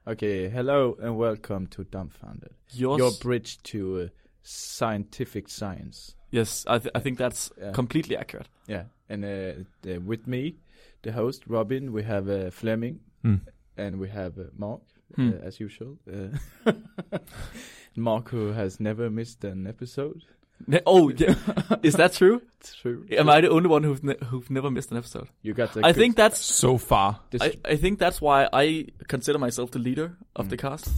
Okay, hello and welcome to Dumbfounded. Your bridge to scientific science. Yes, I think that's completely accurate. Yeah, and with me, the host, Robin, we have Fleming, and we have Mark, as usual. Mark, who has never missed an episode. Oh, yeah. Is that true? It's true. Am I the only one who've never missed an episode? You got. I think that's so far. I think that's why I consider myself the leader of the cast.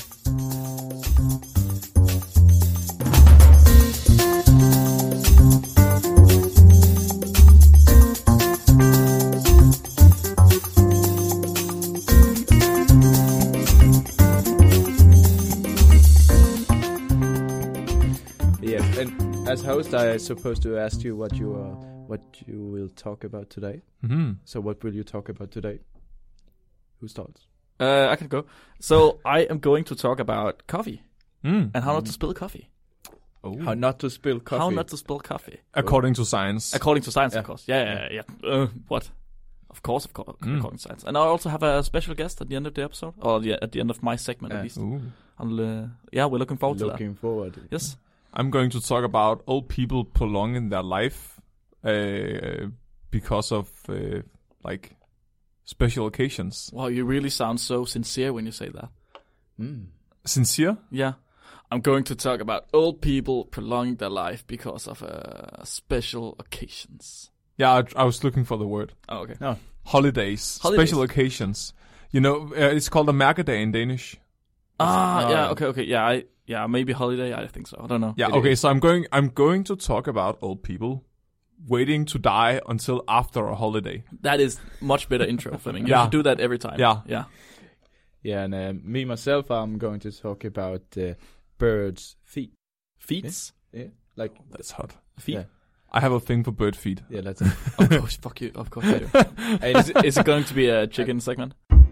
As host, I'm supposed to ask you what you will talk about today. Mm-hmm. So what will you talk about today? Who starts? I can go. So I am going to talk about coffee and how not to spill coffee. Oh. How not to spill coffee. How not to spill coffee. According to science. According to science, of course. Yeah. What? Of course, according to science. And I also have a special guest at the end of the episode, or at the end of my segment at least. We're looking forward to that. Looking forward. Yes. I'm going to talk about old people prolonging their life because of special occasions. Wow, you really sound so sincere when you say that. Sincere? Yeah. I'm going to talk about old people prolonging their life because of special occasions. Yeah, I was looking for the word. Oh, okay. No. Holidays. Special occasions. You know, it's called a mærkedag in Danish. Okay. Yeah, maybe holiday. I think so. I don't know. Yeah. Okay. So I'm going to talk about old people waiting to die until after a holiday. That is much better intro, Fleming. You should do that every time. Yeah. Yeah, and me myself, I'm going to talk about birds' feet. Feet? Yeah. That's hot. Feet. Yeah. I have a thing for bird feet. Yeah, that's of course. Fuck you. Of course you do. Is it going to be a chicken segment?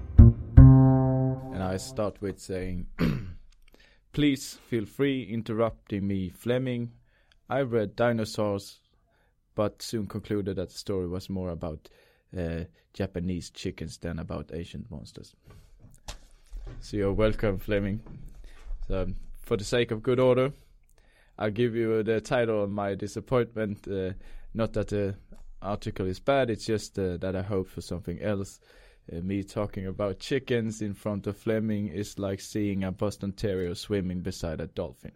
And I start with saying. Please feel free interrupting me, Fleming. I read dinosaurs, but soon concluded that the story was more about Japanese chickens than about ancient monsters. So you're welcome, Fleming. So for the sake of good order, I'll give you the title of my disappointment. Not that the article is bad, it's just that I hope for something else. Me talking about chickens in front of Fleming is like seeing a Boston Terrier swimming beside a dolphin.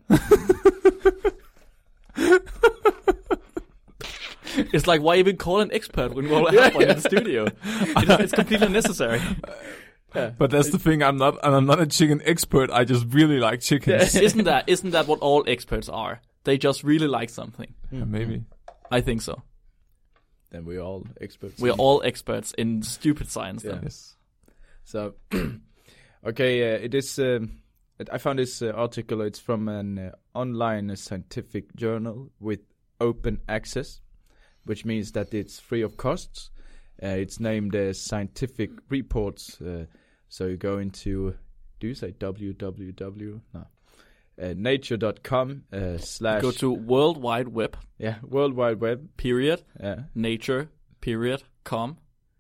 It's like, why even call an expert when we all have one in the studio? It's completely unnecessary. Yeah. But that's the thing. I'm not a chicken expert. I just really like chickens. Isn't that what all experts are? They just really like something. Yeah, maybe. I think so. Then we're all experts. We're all experts in stupid science. Then. Yes. So, okay, it is. I found this article. It's from an online scientific journal with open access, which means that it's free of costs. It's named Scientific Reports. So you go into. Do you say www? No. Nature.com / Go to World Wide Web. Yeah, World Wide Web. Period. Yeah. Nature. Period. Com.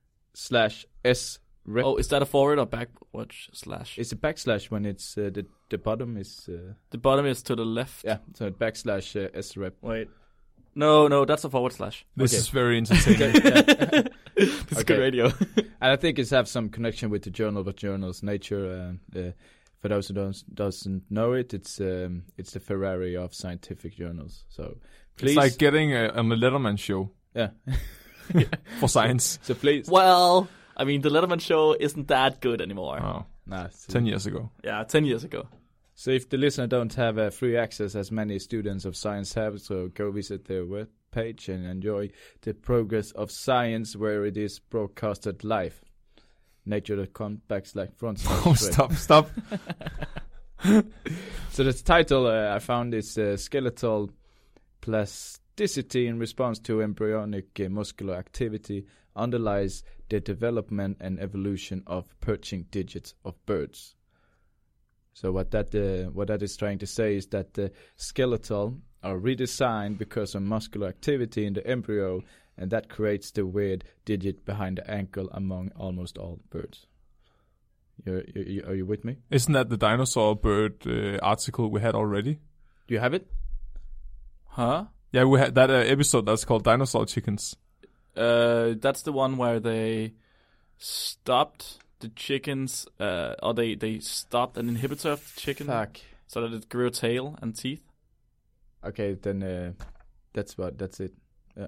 /srep. Oh, is that a forward or backward slash? It's a backslash when it's the bottom is. The bottom is to the left. Yeah, so /srep. Wait. No, that's a forward slash. This is very entertaining. This is good radio. And I think it's have some connection with the journal, but journals Nature. For those who doesn't know it, it's the Ferrari of scientific journals. So please, it's like getting on the Letterman show. Yeah. For science. So please. Well, I mean, the Letterman show isn't that good anymore. Oh. Nah, 10 years ago. Yeah, 10 years ago. So if the listener don't have free access, as many students of science have, so go visit their web page and enjoy the progress of science where it is broadcasted live. Nature.com/front. Oh, stop. So the title I found is skeletal plasticity in response to embryonic muscular activity underlies the development and evolution of perching digits of birds. So what that is trying to say is that the skeletal are redesigned because of muscular activity in the embryo, and that creates the weird digit behind the ankle among almost all birds. Are you with me? Isn't that the dinosaur bird article we had already? Do you have it? Huh? Yeah, we had that episode that's called Dinosaur Chickens. That's the one where they stopped the chickens, or they stopped an inhibitor of the chicken. Fuck. So that it grew a tail and teeth. Okay, then that's it. Yeah.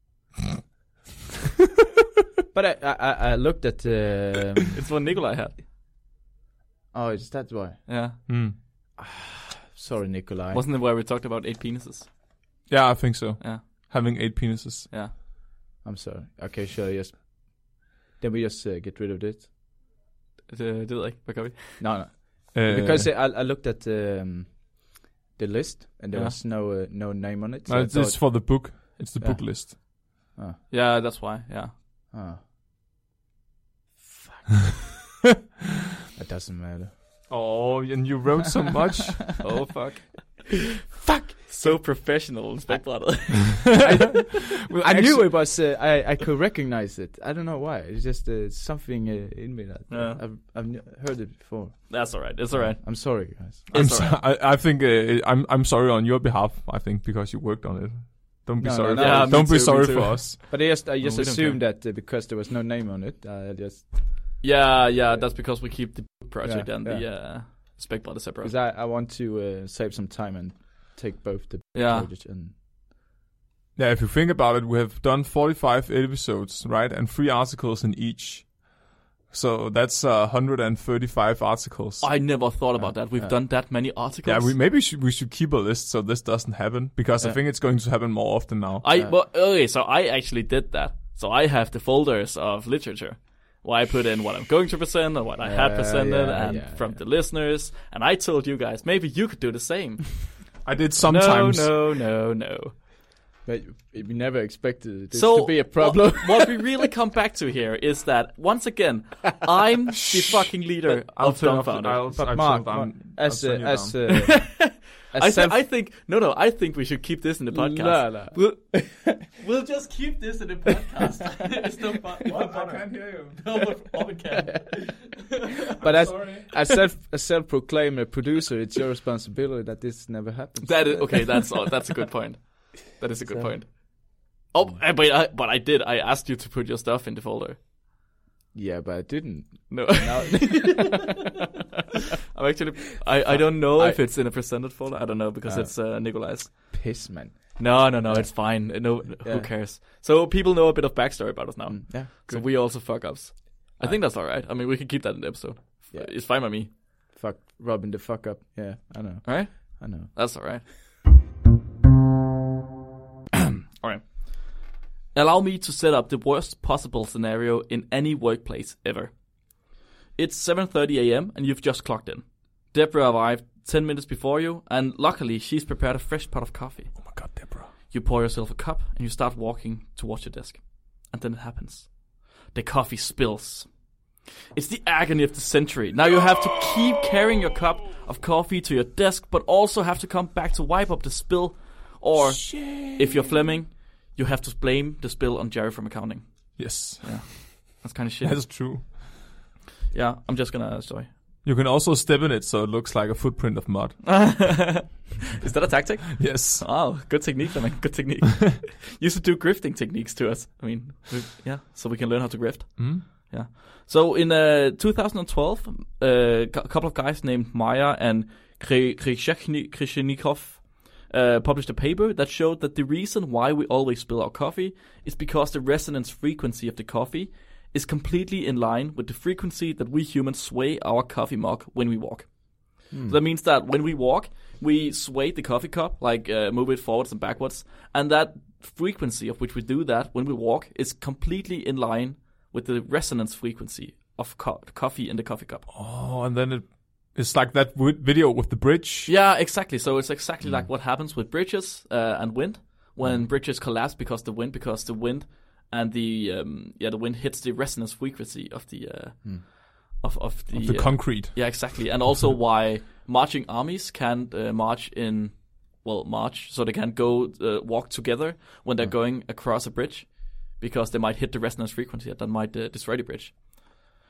But I looked at. It's what Nikolai had. Oh, is that why? Yeah. Sorry, Nikolai. Wasn't it where we talked about 8 penises? Yeah, I think so. Yeah. Having 8 penises. Yeah. I'm sorry. Okay, sure. Yes. Then we just get rid of this. Det ved jeg ikke. Hvad gør vi? No. Because I looked at the list and there was no name on it. So it's for the book. It's the book list. Oh. Yeah, that's why. Yeah. Oh. Fuck. It doesn't matter. Oh, and you wrote so much. Oh, fuck. Fuck! So professional, Inspector. I knew it was. I could recognize it. I don't know why. It's just something in me that I've heard it before. That's all right. It's all right. I'm sorry, guys. I think I'm sorry on your behalf. I think because you worked on it. Don't be sorry. Yeah, don't be sorry for us. But I just assumed that because there was no name on it, I just. Yeah. That's because we keep the project and the spec body separate. Because I want to save some time and take both the project and. Yeah, if you think about it, we have done 45 episodes, right, and 3 articles in each. So that's 135 articles. I never thought about that. We've done that many articles. Yeah, we should keep a list so this doesn't happen because I think it's going to happen more often now. So I actually did that. So I have the folders of literature where I put in what I'm going to present and what I had presented from the listeners. And I told you guys, maybe you could do the same. I did sometimes. No. But we never expected this to be a problem. What we really come back to here is that, once again, I'm the fucking leader of Dumbfounded. But Mark, I think we should keep this in the podcast. We'll just keep this in the podcast. It's no fun. I can't hear you. No, we can. But as a self-proclaimed producer, it's your responsibility that this never happens. That's a good point. That is a good point. Oh, but I did. I asked you to put your stuff in the folder. Yeah, but I didn't. No. I'm actually. I don't know if it's in a presented folder. I don't know because it's Nikolai's. Piss, man. No. It's fine. Who cares? So people know a bit of backstory about us now. Yeah. So we also fuck ups. I think that's all right. I mean, we can keep that in the episode. Yeah. It's fine by me. Fuck Robin the fuck up. Yeah, I know. All right. I know. That's all right. All right. Allow me to set up the worst possible scenario in any workplace ever. It's 7:30 a.m. and you've just clocked in. Deborah arrived 10 minutes before you, and luckily she's prepared a fresh pot of coffee. Oh my god, Deborah. You pour yourself a cup and you start walking towards your desk. And then it happens. The coffee spills. It's the agony of the century. Now you have to keep carrying your cup of coffee to your desk, but also have to come back to wipe up the spill. Or, if you're Fleming, you have to blame the spill on Jerry from accounting. Yes. Yeah. That's kind of shit. That's true. Yeah, I'm just gonna... Sorry. You can also step in it so it looks like a footprint of mud. Is that a tactic? Yes. Oh, good technique, Fleming. Good technique. You should do grifting techniques to us. I mean, so we can learn how to grift. Mm-hmm. Yeah. So in 2012, a couple of guys named Maya and Krishnikov published a paper that showed that the reason why we always spill our coffee is because the resonance frequency of the coffee is completely in line with the frequency that we humans sway our coffee mug when we walk. So that means that when we walk, we sway the coffee cup, like move it forwards and backwards, and that frequency of which we do that when we walk is completely in line with the resonance frequency of coffee in the coffee cup. Oh, and then it's like that video with the bridge. Yeah, exactly. So it's exactly like what happens with bridges and wind when bridges collapse because the wind and the wind hits the resonance frequency of the of the concrete. Yeah, exactly. And also why marching armies can't march so they can't go walk together when they're going across a bridge because they might hit the resonance frequency that might destroy the bridge.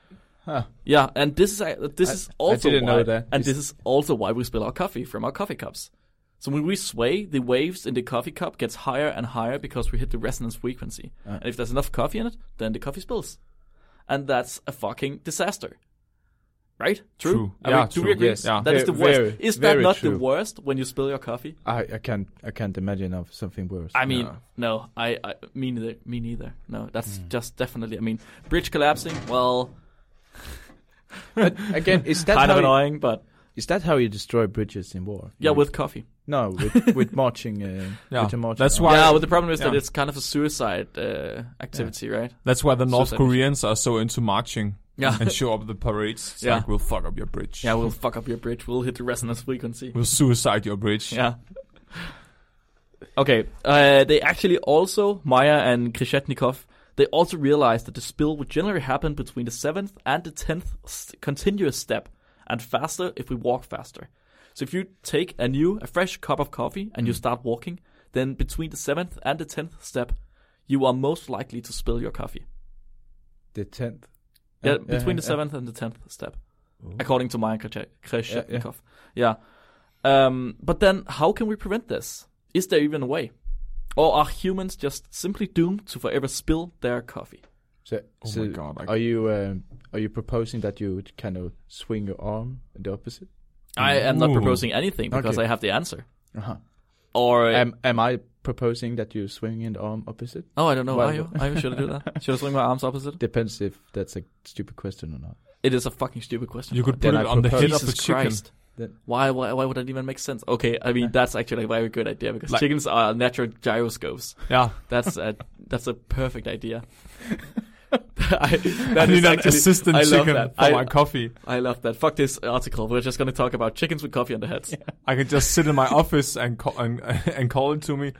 Huh. Yeah, and this is also didn't why, know that. and this is also why we spill our coffee from our coffee cups. So when we sway, the waves in the coffee cup gets higher and higher because we hit the resonance frequency. And if there's enough coffee in it, then the coffee spills. And that's a fucking disaster. Right? True. Do we agree? Yes. Yeah. That is the worst. Is that not true. the worst when you spill your coffee? I can't imagine of something worse. I mean, no. Me neither. No, that's just definitely. I mean, bridge collapsing. Well, but again, is that kind how of annoying, but is that how you destroy bridges in war? yeah, with coffee. No, with marching. With the marching. That's why. Yeah, but the problem is that it's kind of a suicide activity, right? That's why the North Suicide Koreans are so into marching. Yeah. And show up at the parades. It's like, we'll fuck up your bridge. Yeah, we'll fuck up your bridge. We'll hit the resonance frequency. We'll suicide your bridge. Yeah. Okay. They actually also, Maya and Krishetnikov, they also realized that the spill would generally happen between the 7th and the 10th continuous step, and faster if we walk faster. So if you take a fresh cup of coffee and you start walking, then between the 7th and the 10th step, you are most likely to spill your coffee. The 10th. Yeah, between the 7th and the 10th step, according to Maya Krishetnikov. Yeah. But then, how can we prevent this? Is there even a way? Or are humans just simply doomed to forever spill their coffee? So my God! Are you proposing that you would kind of swing your arm in the opposite? I am not proposing anything because I have the answer. Uh-huh. Or am I proposing that you swing in the arm opposite? Oh, I don't know. Well, Are you? Should I do that? Should I swing my arms opposite? Depends if that's a stupid question or not. It is a fucking stupid question. You could put it on the head of a Jesus chicken. Christ. Why would that even make sense? Okay, I mean that's actually a very good idea because chickens are natural gyroscopes. Yeah, that's a perfect idea. I need an assistant chicken for my coffee. I love that. Fuck this article. We're just going to talk about chickens with coffee on their heads. Yeah. I can just sit in my office and call it to me.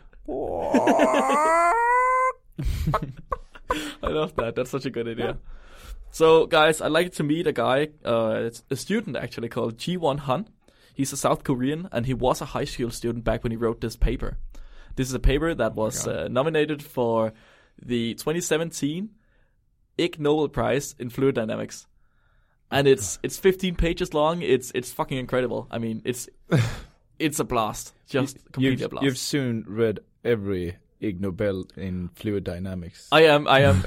I love that. That's such a good idea. So, guys, I'd like to meet a guy, it's a student actually called Ji-won Han. He's a South Korean, and he was a high school student back when he wrote this paper. This is a paper that was nominated for the 2017 Ig Nobel Prize in Fluid Dynamics. And it's 15 pages long. It's fucking incredible. I mean, it's a blast. Just completely a blast. You've soon read every Ig Nobel in fluid dynamics. I am.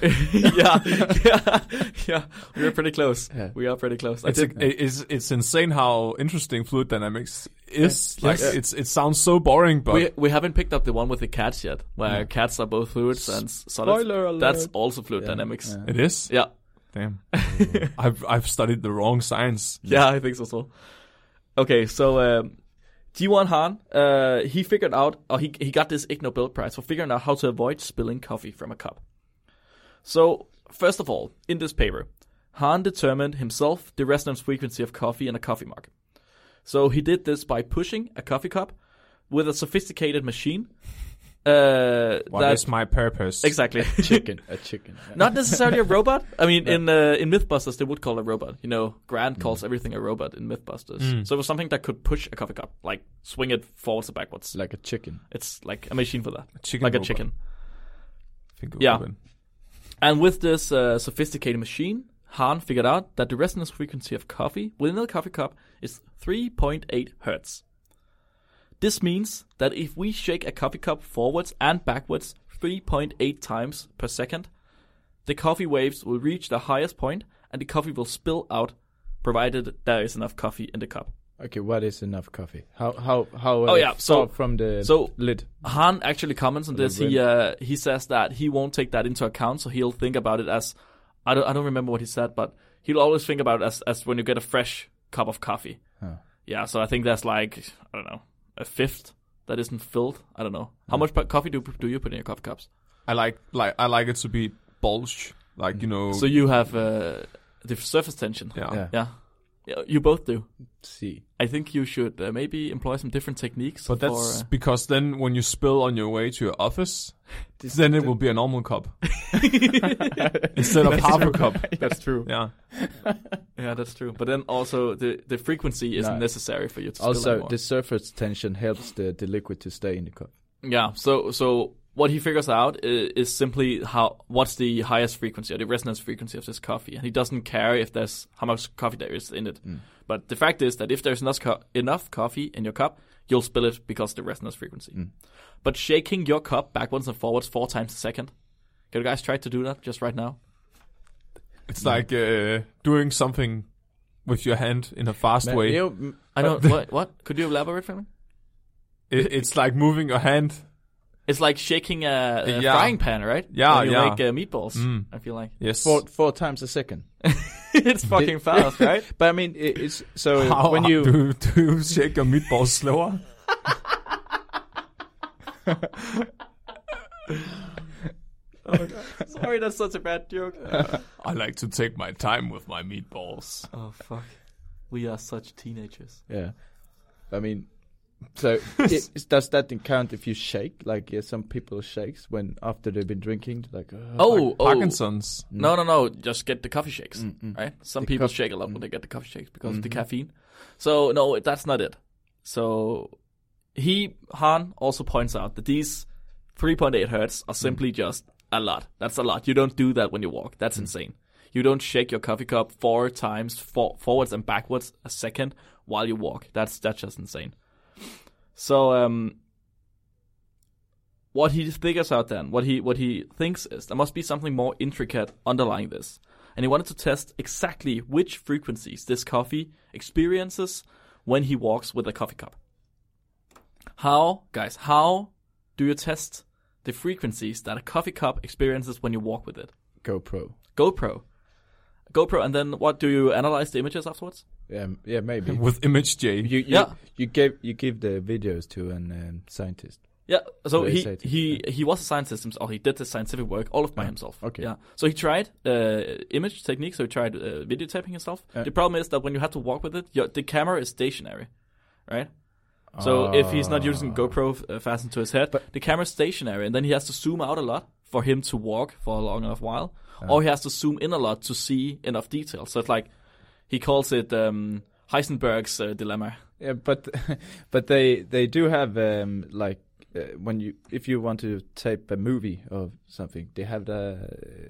Yeah. We are pretty close. Yeah. We are pretty close. It's insane how interesting fluid dynamics is. Yeah. Like it sounds so boring, but we haven't picked up the one with the cats yet, where cats are both fluids and solids. Spoiler alert. That's also fluid dynamics. Yeah. It is. Yeah. Damn. I've studied the wrong science. Yeah, I think so. Okay, so. Ji-won Han, he figured out, or he got this Ig Nobel Prize for figuring out how to avoid spilling coffee from a cup. So, first of all, in this paper, Han determined himself the resonance frequency of coffee in a coffee mug. So he did this by pushing a coffee cup with a sophisticated machine. What is my purpose? Exactly. A chicken. Yeah. Not necessarily a robot. I mean, in Mythbusters, they would call it a robot. You know, Grant calls everything a robot in Mythbusters. So it was something that could push a coffee cup, like swing it forwards or backwards. Like a chicken. It's like a machine for that. A robot. Chicken. Yeah. And with this sophisticated machine, Han figured out that the resonance frequency of coffee within the coffee cup is 3.8 hertz. This means that if we shake a coffee cup forwards and backwards 3.8 times per second, the coffee waves will reach the highest point and the coffee will spill out, provided there is enough coffee in the cup. Okay, what is enough coffee? How so from the lid? Han actually comments on this. He says that he won't take that into account, so he'll think about it as I don't remember what he said, but he'll always think about it as when you get a fresh cup of coffee. Huh. Yeah, so I think that's like I don't know. A fifth that isn't filled. I don't know. How much coffee do you put in your coffee cups? I like it to be bulged, like you know. So you have the surface tension. Yeah. You both do. See, I think you should maybe employ some different techniques. But that's because then when you spill on your way to your office, then it will be a normal cup instead of half a cup. That's true. Yeah. Yeah, that's true. But then also the frequency isn't necessary for you to spill also anymore. The surface tension helps the liquid to stay in the cup. Yeah. So what he figures out is simply what's the highest frequency or the resonance frequency of this coffee, and he doesn't care if there's how much coffee there is in it. But the fact is that if there's enough coffee in your cup, you'll spill it because of the resonance frequency. But shaking your cup backwards and forwards 4 times a second, can you guys try to do that just right now? It's like doing something with your hand in a fast way. I don't. What? Could you elaborate for me? It's like moving your hand. It's like shaking a frying pan, right? Yeah, when you make meatballs. I feel like yes, 4 times a second. It's fucking fast, right? But I mean, it's so How when you do you shake your meatballs slower? Oh my God. Sorry, that's such a bad joke. I like to take my time with my meatballs. Oh fuck, we are such teenagers. Yeah, I mean, so does that count if you shake? Like some people shakes when after they've been drinking, like Parkinson's. No, just get the coffee shakes, right? Some people shake a lot when they get the coffee shakes because of the caffeine. So no, that's not it. So Han also points out that these 3.8 hertz are simply just a lot. That's a lot. You don't do that when you walk. That's insane. You don't shake your coffee cup 4 times forwards and backwards a second while you walk. That's just insane. So what he figures out then, what he thinks is there must be something more intricate underlying this. And he wanted to test exactly which frequencies this coffee experiences when he walks with a coffee cup. How do you test the frequencies that a coffee cup experiences when you walk with it? GoPro, and then what, do you analyze the images afterwards? Yeah, maybe. With ImageJ. You give the videos to an scientist. Yeah, so he was a scientist himself. He did the scientific work all by himself. Okay. Yeah, so he tried image technique. So he tried videotaping himself. The problem is that when you have to walk with it, the camera is stationary, right? So if he's not using GoPro fastened to his head, the camera's stationary, and then he has to zoom out a lot for him to walk for a long enough while, or he has to zoom in a lot to see enough detail. So it's like he calls it Heisenberg's dilemma. Yeah, but they do have if you want to tape a movie or something, they have the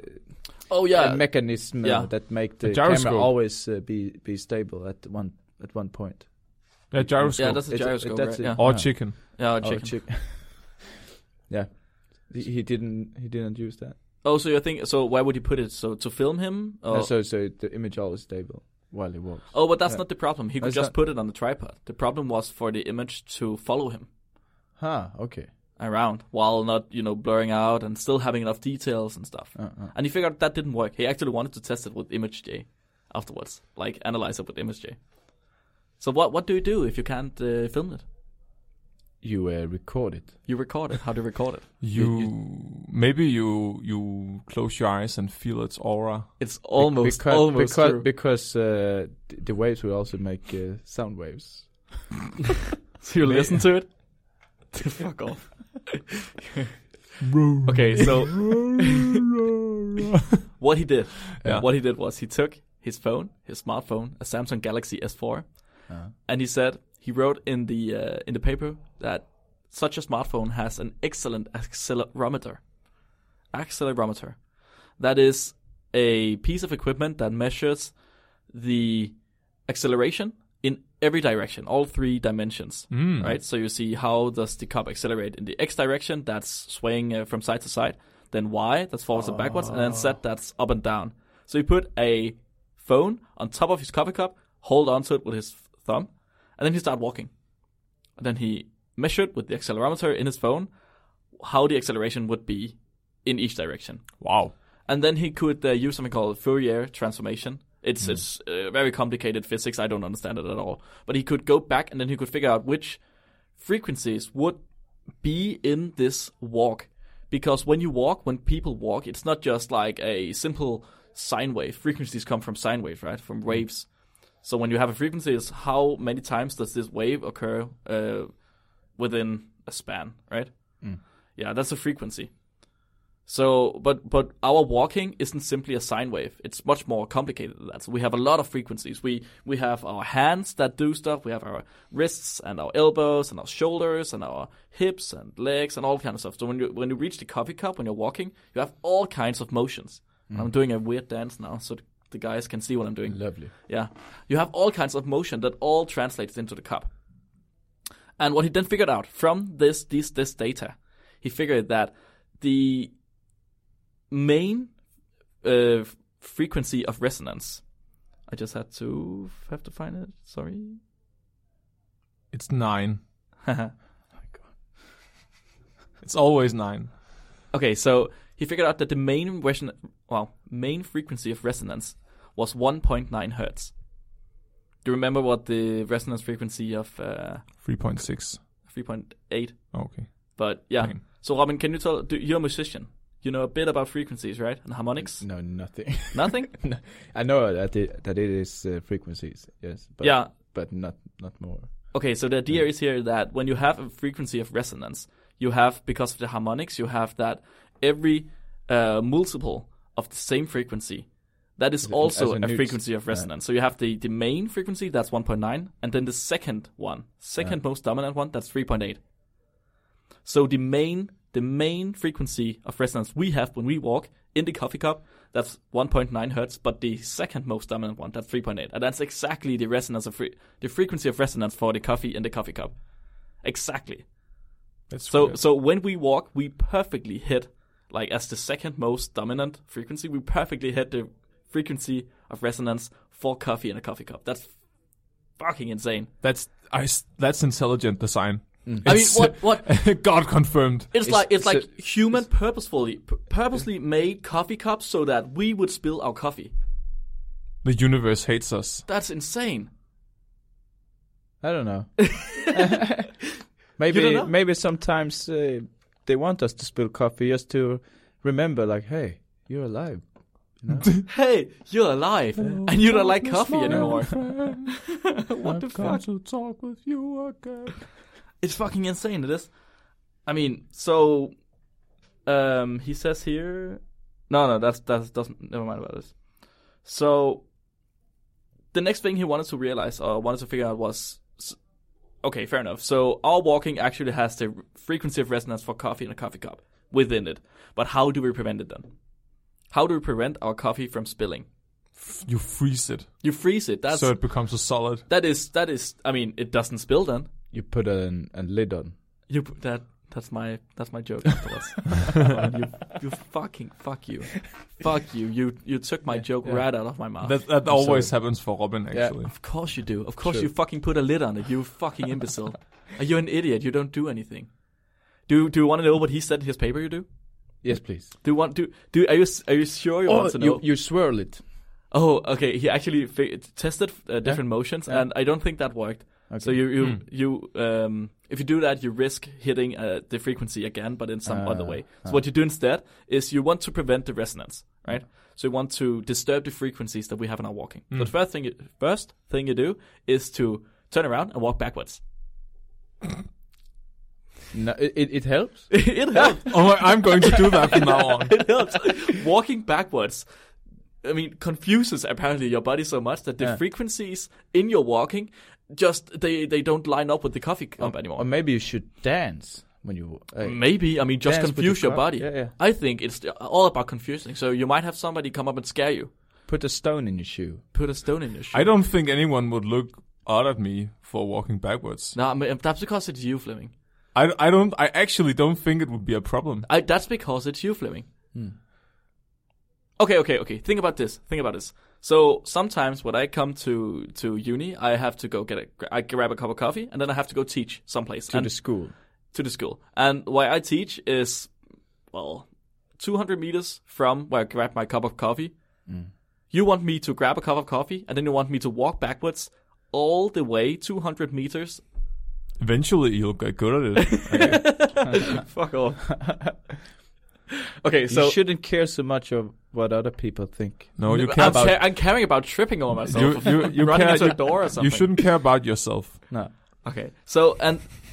a mechanism that make the camera always be stable at one point. Yeah, gyroscope. Yeah, that's a gyroscope, right? Yeah. Or chicken. Yeah, chicken. Yeah, he didn't use that. Oh, so you think so? Where would you put it? So to film him? Or? So the image always stable while he walks. Oh, but that's not the problem. He could just put it on the tripod. The problem was for the image to follow him. Okay. Around while not, blurring out and still having enough details and stuff. And he figured that didn't work. He actually wanted to test it with ImageJ afterwards, like analyze it with ImageJ. So what do you do if you can't film it? You record it. You record it. How do you record it? Maybe you close your eyes and feel its aura. It's almost true. Because the waves will also make sound waves. So you listen to it? Fuck off. Okay, so what he did was he took his smartphone, a Samsung Galaxy S4, and he wrote in the paper that such a smartphone has an excellent accelerometer. That is a piece of equipment that measures the acceleration in every direction, all 3 dimensions, right? So you see how does the cup accelerate in the X direction, that's swaying from side to side, then Y, that's forwards and backwards, and then Z, that's up and down. So he put a phone on top of his coffee cup, hold onto it with his thumb, and then he started walking. And then he measured with the accelerometer in his phone how the acceleration would be in each direction. Wow. And then he could use something called Fourier transformation. It's very complicated physics. I don't understand it at all. But he could go back and then he could figure out which frequencies would be in this walk. Because when people walk, it's not just like a simple sine wave. Frequencies come from sine waves, right? From waves. So when you have a frequency, it's how many times does this wave occur within a span, right? Yeah, that's a frequency. So, but our walking isn't simply a sine wave. It's much more complicated than that. So we have a lot of frequencies. We have our hands that do stuff. We have our wrists and our elbows and our shoulders and our hips and legs and all kind of stuff. So when you reach the coffee cup, when you're walking, you have all kinds of motions. I'm doing a weird dance now, so the guys can see what I'm doing. Lovely. Yeah. You have all kinds of motion that all translates into the cup. And what he then figured out from this data, he figured that the main frequency of resonance. I just have to find it. Sorry. It's 9. Oh my God. It's always 9. Okay, so he figured out that the main frequency of resonance was 1.9 hertz. Do you remember what the resonance frequency of 3.6? 3.8. Okay. But yeah. Fine. So Robin, can you you're a musician. You know a bit about frequencies, right? And harmonics? No, nothing. Nothing? No, I know that it is frequencies, yes. But, yeah. But not more. Okay, so the idea is here that when you have a frequency of resonance, you have, because of the harmonics, you have that every multiple of the same frequency, that is also a frequency of resonance. So you have the main frequency, that's 1.9, and then the second most dominant one, that's 3.8. So the main frequency of resonance we have when we walk in the coffee cup, that's 1.9 hertz, but the second most dominant one, that's 3.8. And that's exactly the resonance of the frequency of resonance for the coffee in the coffee cup. Exactly. That's so when we walk, we perfectly hit, like as the second most dominant frequency, we perfectly hit the frequency of resonance for coffee in a coffee cup. That's fucking insane. That's intelligent design. I mean, what? God confirmed. It's like human purposely made coffee cups so that we would spill our coffee. The universe hates us. That's insane. I don't know. Maybe sometimes they want us to spill coffee just to remember, like, hey, you're alive. You know? Hey, you're alive, and you don't like coffee anymore. What the fuck? To talk with you again. It's fucking insane, it is. I mean, so he says here. No, that doesn't. Never mind about this. So the next thing he wanted to realize or wanted to figure out was, okay, fair enough. So our walking actually has the frequency of resonance for coffee in a coffee cup within it. But how do we prevent it then? How do we prevent our coffee from spilling? You freeze it. You freeze it. So it becomes a solid. That is. I mean, it doesn't spill then. You put a lid on. You put that. That's my joke afterwards. you fuck you. You took my joke right out of my mouth. That always happens for Robin, actually. Yeah, of course you do. Of course you fucking put a lid on it. You fucking imbecile. Are you an idiot? You don't do anything. Do you want to know what he said in his paper? You do? Yes, please. Are you sure you want to know? You swirl it. Oh, okay. He actually tested different motions, and I don't think that worked. Okay. So you if you do that, you risk hitting the frequency again, but in some other way. So what you do instead is you want to prevent the resonance, right? So you want to disturb the frequencies that we have in our walking. So the first thing you do is to turn around and walk backwards. No, it helps. It helps. Oh, I'm going to do that from now on. It helps. Walking backwards, I mean, confuses apparently your body so much that the frequencies in your walking just they don't line up with the coffee cup anymore. Or maybe you should dance when you. Maybe, I mean, just confuse your body. Yeah. I think it's all about confusing. So you might have somebody come up and scare you. Put a stone in your shoe. I don't think anyone would look odd at me for walking backwards. No, I mean, that's because it's you, Fleming. I actually don't think it would be a problem. That's because it's you, Fleming. Okay. Think about this. So sometimes when I come to uni, I have to go I grab a cup of coffee, and then I have to go teach someplace. To the school. And where I teach is, 200 meters from where I grab my cup of coffee. You want me to grab a cup of coffee, and then you want me to walk backwards all the way 200 meters. Eventually, you'll get good at it. Fuck off. Okay, so you shouldn't care so much of what other people think. No, you care about. I'm caring about tripping over myself. You running care into a door or something. You shouldn't care about yourself. No. Okay, so and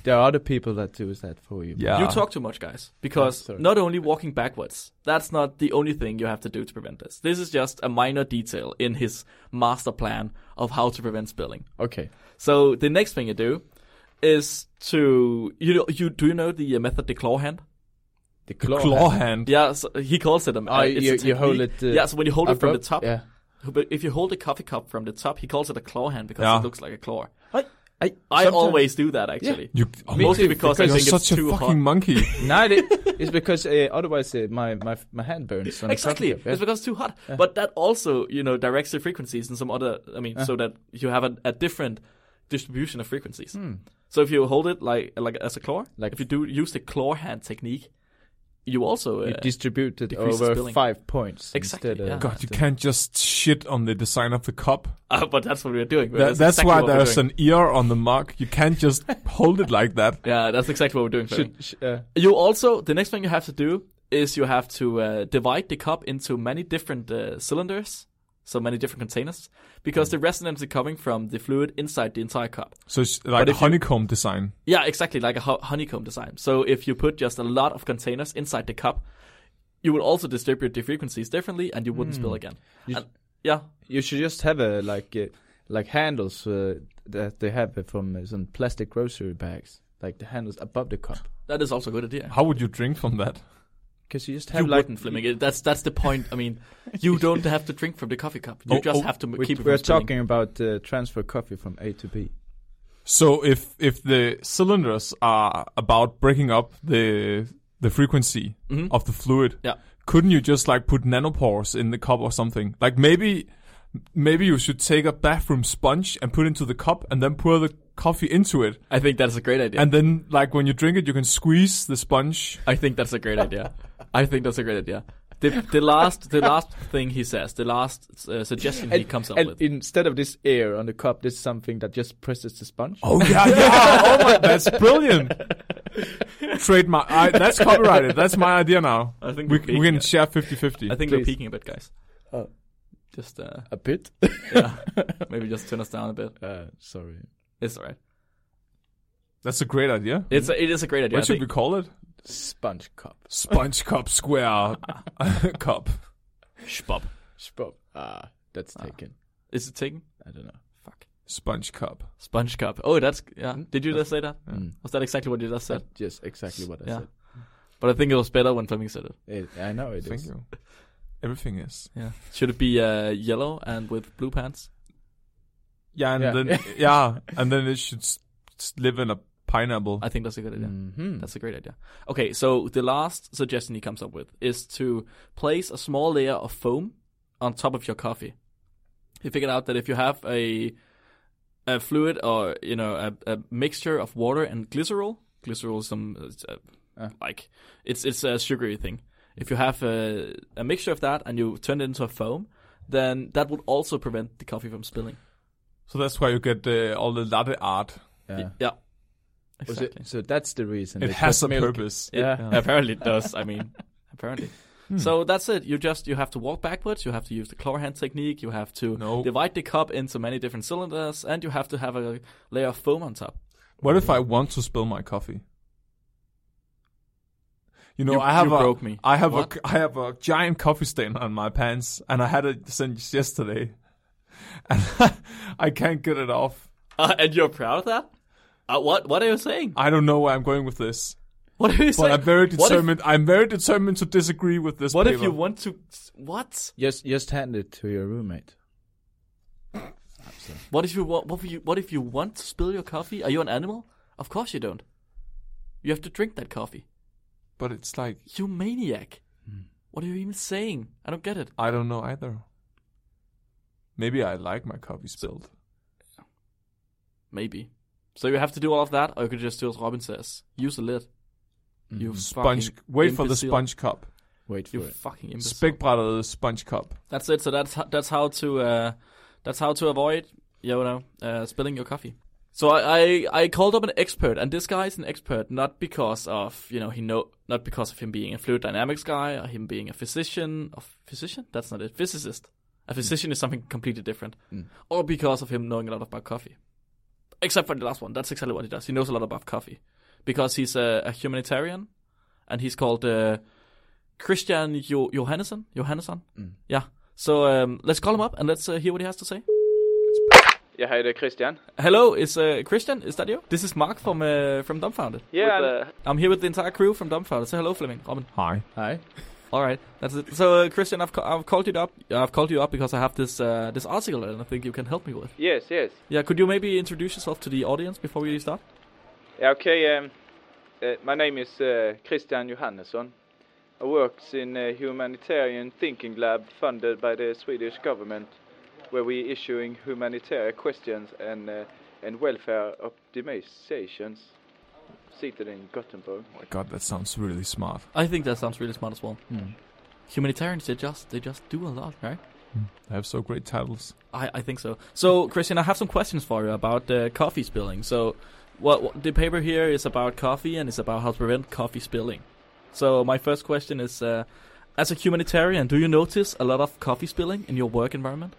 there are other people that do that for you. Yeah. You talk too much, guys, because sorry. not only walking backwards, that's not the only thing you have to do to prevent this. This is just a minor detail in his master plan of how to prevent spilling. Okay. So the next thing you do is to do you know the method the claw hand? The Claw hand. Yeah, so he calls it a. It's a you hold technique. it. Yeah, so when you hold it from the top, Yeah. but if you hold a coffee cup from the top, he calls it a claw hand because Yeah. it looks like a claw. I I always do that actually. You, Mostly because I you're think it's such a too fucking hot. monkey. No, it's because otherwise my hand burns. On the Exactly, coffee cup, yeah. it's because it's too hot. But that also, directs the frequencies in some other. So that you have a different distribution of frequencies. So if you hold it like as a claw, Like- if you do use the claw hand technique, you also You distribute it decrease the over spilling. 5 points. Exactly, Instead yeah. of God, you can't just shit on the design of the cup. but that's what we're doing. That's exactly why what we're there's doing. an ear on the mug. You can't just hold it like that. Yeah, that's exactly what we're doing. Fleming. Should, You also, the next thing you have to do is you have to divide the cup into many different cylinders, so many different containers, because the resonance is coming from the fluid inside the entire cup. So it's like a honeycomb design. Yeah, exactly, like a honeycomb design. So if you put just a lot of containers inside the cup, you will also distribute the frequencies differently, and you wouldn't spill again. Yeah, you should just have like handles that they have from some plastic grocery bags, like the handles above the cup. that is also a good idea. How would you drink from that? Because you just have You like wouldn't, Fleming. That's the point. I mean, you don't have to drink from the coffee cup. You just have to keep it from we're spilling. talking about transfer coffee from A to B. So if the cylinders are about breaking up the frequency of the fluid, Yeah. couldn't you just like put nanopores in the cup or something? Like maybe you should take a bathroom sponge and put it into the cup and then pour the coffee into it. I think that's a great idea. And then like when you drink it, you can squeeze the sponge. I think that's a great idea. I think that's a great idea. The last thing he says, the last suggestion he comes up and with. instead of this air on the cup, this is something that just presses the sponge. Oh yeah. Oh my, that's brilliant. Trademark. That's copyrighted. That's my idea now. I think we we're peaking can it. share 50-50. I think Please. we're peaking a bit, guys. Oh. Just A bit. yeah, maybe just turn us down a bit. Sorry. It's alright. That's a great idea. It is a great idea. What should we call it? Sponge cup. Sponge cup square cup. Spop. Spop. That's taken. Is it taken? I don't know. Fuck. Sponge cup. Sponge cup. Oh, that's yeah. Did you just say that? Mm. Was that exactly what you just said? That's just exactly what I Yeah. said. But I think it was better when Fleming said it. I know it Thank is. you. Everything is. Yeah. Should it be yellow and with blue pants? Yeah, and Yeah. then and then it should live in a pineapple. I think that's a good idea. Mm-hmm. That's a great idea. Okay, so the last suggestion he comes up with is to place a small layer of foam on top of your coffee. He figured out that if you have a fluid or a mixture of water and glycerol is some like it's a sugary thing. If you have a mixture of that and you turn it into a foam, then that would also prevent the coffee from spilling. So that's why you get all the latte art. Yeah. Exactly. So that's the reason. It They has put a milk. purpose. Yeah. Apparently it does. I mean, apparently. So that's it. You have to walk backwards. You have to use the claw hand technique. You have to divide the cup into many different cylinders, and you have to have a layer of foam on top. What if I want to spill my coffee? You know, You broke me. I have What? I have a giant coffee stain on my pants, and I had it since yesterday, and I can't get it off. And you're proud of that? What are you saying? I don't know where I'm going with this, What are you but saying? I'm very What if- determined. I'm very determined to disagree with this. What paper. if you want to? What? Just hand it to your roommate. What if you want? What if you want to spill your coffee? Are you an animal? Of course you don't. You have to drink that coffee. But it's like You maniac! What are you even saying? I don't get it. I don't know either. Maybe I like my coffee spilled. Maybe. So you have to do all of that, or you could just do as Robin says: use a lid. You Sponge. fucking Wait for the imbecile. sponge cup. Wait for You it. fucking imbecile. Spækbrættet sponge cup. That's it. So that's how to avoid spilling your coffee. So I called up an expert, and this guy is an expert not because of not because of him being a fluid dynamics guy or him being a physician. That's not it. Physicist. A physician is something completely different. Or because of him knowing a lot about coffee. Except for the last one. That's exactly what he does. He knows a lot about coffee. Because he's a humanitarian. And he's called Christian Johannesson. Yeah. So let's call him up and let's hear what he has to say. Yeah, hi there, Christian. Hello, is Christian? Is that you? This is Mark from Dumbfounded. Yeah, I'm here with the entire crew from Dumbfounded. Say hello, Flemming. Robin. Hi. Hi. All right, that's it. So, Christian, I've called you up. I've called you up because I have this article that I think you can help me with. Yes. Yeah, could you maybe introduce yourself to the audience before we start? Okay, my name is Christian Johannesson. I work in a humanitarian thinking lab funded by the Swedish government, where we issuing humanitarian questions and welfare optimizations, seated in Gothenburg. Oh my god, that sounds really smart. I think that sounds really smart as well. Humanitarians, they just do a lot, right? They have so great titles. I think so. So, Christian, I have some questions for you about coffee spilling. So, what the paper here is about coffee and it's about how to prevent coffee spilling. So, my first question is, as a humanitarian, do you notice a lot of coffee spilling in your work environment?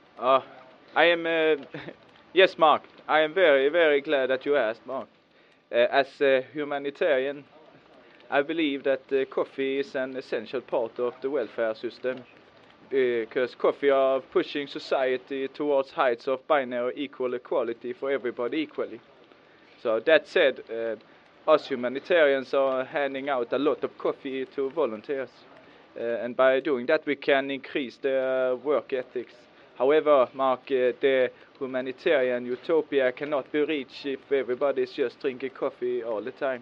I am, yes, Mark. I am very, very glad that you asked, Mark. As a humanitarian, I believe that coffee is an essential part of the welfare system, because coffee are pushing society towards heights of binary equal equality for everybody equally. So that said, us humanitarians are handing out a lot of coffee to volunteers, and by doing that we can increase their work ethics. However, Mark, the humanitarian utopia cannot be reached if everybody is just drinking coffee all the time.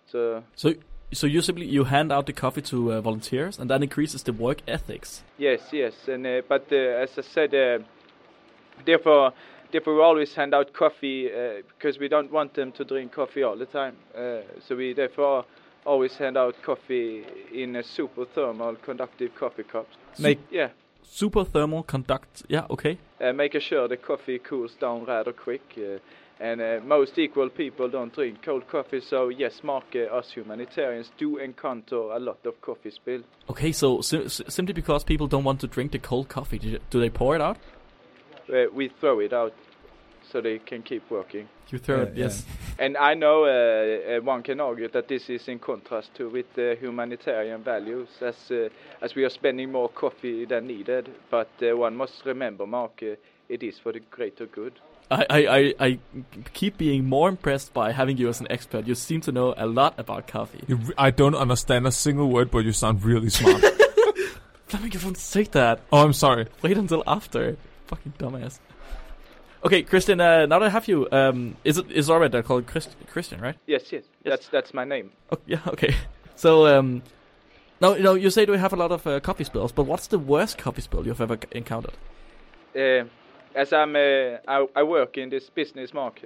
So you hand out the coffee to volunteers, and that increases the work ethics. Yes, and but as I said, therefore we always hand out coffee because we don't want them to drink coffee all the time. So we therefore always hand out coffee in a super thermal conductive coffee cups. Super thermal conduct. Yeah, okay. Making sure the coffee cools down rather quick. And most equal people don't drink cold coffee. So yes, Mark, us humanitarians do encounter a lot of coffee spill. Okay, so simply because people don't want to drink the cold coffee, do they pour it out? We throw it out so they can keep working. You throw it, yes. And I know one can argue that this is in contrast to with humanitarian values, as we are spending more coffee than needed. But one must remember, Mark, it is for the greater good. I keep being more impressed by having you as an expert. You seem to know a lot about coffee. I don't understand a single word, but you sound really smart. Flemming, you don't say that. Oh, I'm sorry. Wait until after. Fucking dumbass. Okay, Christian, now that I have you, is alright they're called Christian, right? Yes. That's my name. Oh, yeah, okay. So, now, you say we have a lot of coffee spills, but what's the worst coffee spill you've ever encountered? As I work in this business, Mark,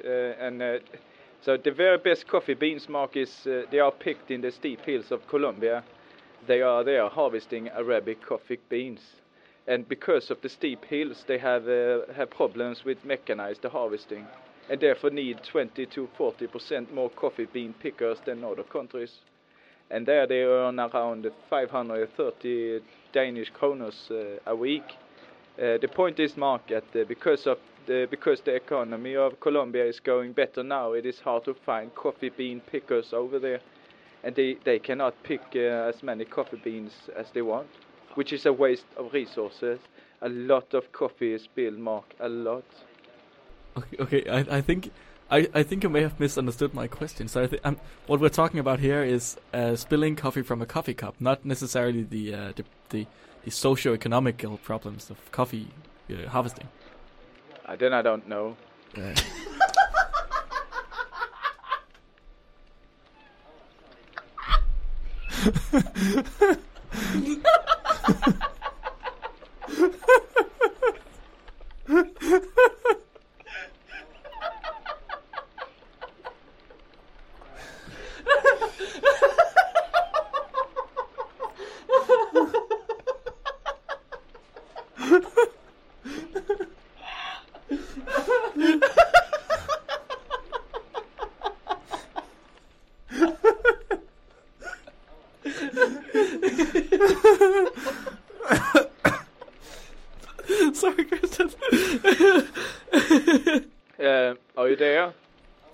so the very best coffee beans, Mark, is they are picked in the steep hills of Colombia. They are harvesting Arabic coffee beans. And because of the steep hills, they have problems with mechanized harvesting, and therefore need 20 to 40% more coffee bean pickers than other countries. And there they earn around 530 Danish kroners a week. The point is, Mark, that because the economy of Colombia is going better now, it is hard to find coffee bean pickers over there, and they cannot pick as many coffee beans as they want, which is a waste of resources. A lot of coffee is spilled, Mark, a lot. Okay. I think you may have misunderstood my question. So what we're talking about here is spilling coffee from a coffee cup, not necessarily the socio-economical problems of coffee harvesting. Then I don't know.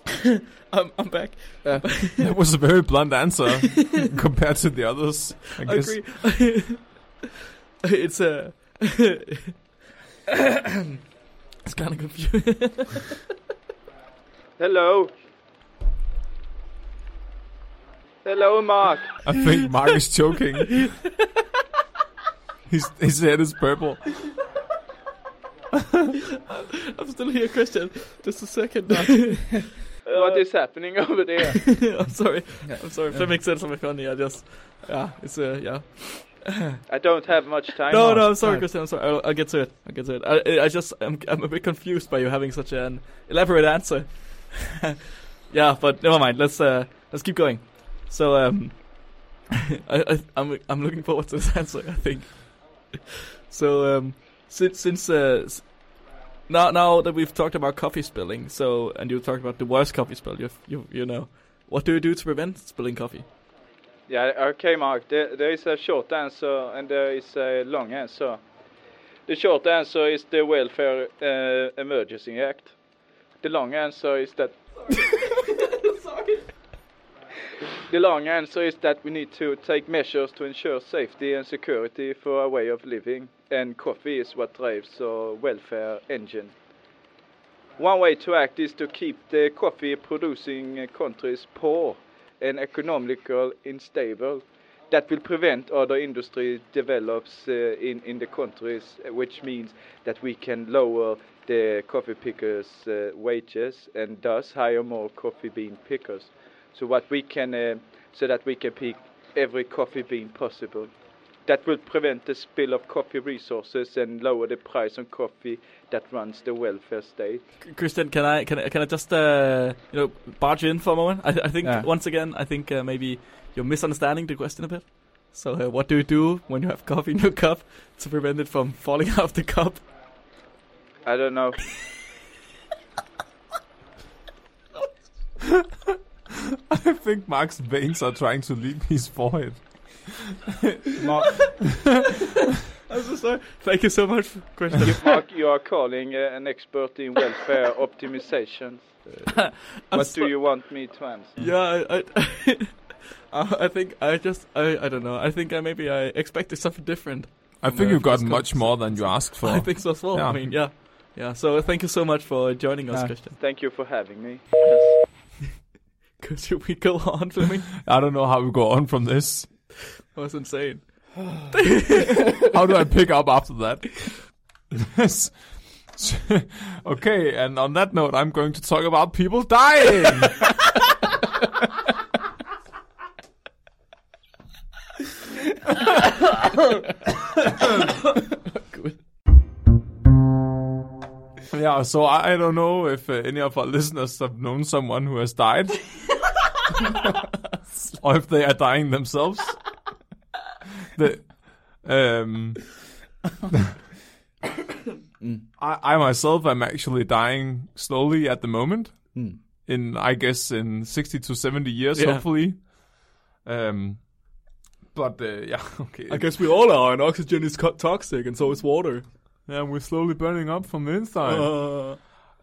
I'm back. That was a very blunt answer compared to the others, I guess. Agree. It's it's kind of confusing. Hello. Hello, Mark. I think Mark is choking. His head is purple. I'm still here, Christian. Just a second. What is happening over there? I'm sorry. If that makes sense. I'm funny. It's I don't have much time. No, I'm sorry, Christian. I'm sorry. I'll get to it. I'm a bit confused by you having such an elaborate answer. Yeah, but never mind. Let's keep going. So I'm looking forward to this answer, I think. So since now that we've talked about coffee spilling, and you talked about the worst coffee spill, you know, what do you do to prevent spilling coffee? Yeah, okay, Mark. There is a short answer and there is a long answer. The short answer is the Welfare Emergency Act. The long answer is that. Sorry. The long answer is that we need to take measures to ensure safety and security for our way of living, and coffee is what drives our welfare engine. One way to act is to keep the coffee-producing countries poor and economically unstable. That will prevent other industry develops in the countries, which means that we can lower the coffee pickers' wages and thus hire more coffee bean pickers. So that we can pick every coffee bean possible. That will prevent the spill of coffee resources and lower the price on coffee that runs the welfare state. Christian, can I just barge in for a moment? I think once again, maybe you're misunderstanding the question a bit. So what do you do when you have coffee in your cup to prevent it from falling out of the cup? I don't know. I think Mark's veins are trying to leave his forehead. Mark, I'm so sorry. Thank you so much, Christian. Mark, you are calling an expert in welfare optimization. What do you want me to answer? Yeah, I think I don't know. I think I expected something different. I think you got much more than you asked for. I think so as well. Yeah. I mean, yeah. So thank you so much for joining us, Christian. Thank you for having me. Could we go on, Fleming? I don't know how we go on from this. That was insane. How do I pick up after that? Okay, and on that note, I'm going to talk about people dying. Good. Yeah, so I don't know if any of our listeners have known someone who has died. Or if they are dying themselves. I myself am actually dying slowly at the moment. In 60 to 70 years, hopefully. But okay. I guess we all are, and oxygen is toxic, and so is water. Yeah, we're slowly burning up from the inside.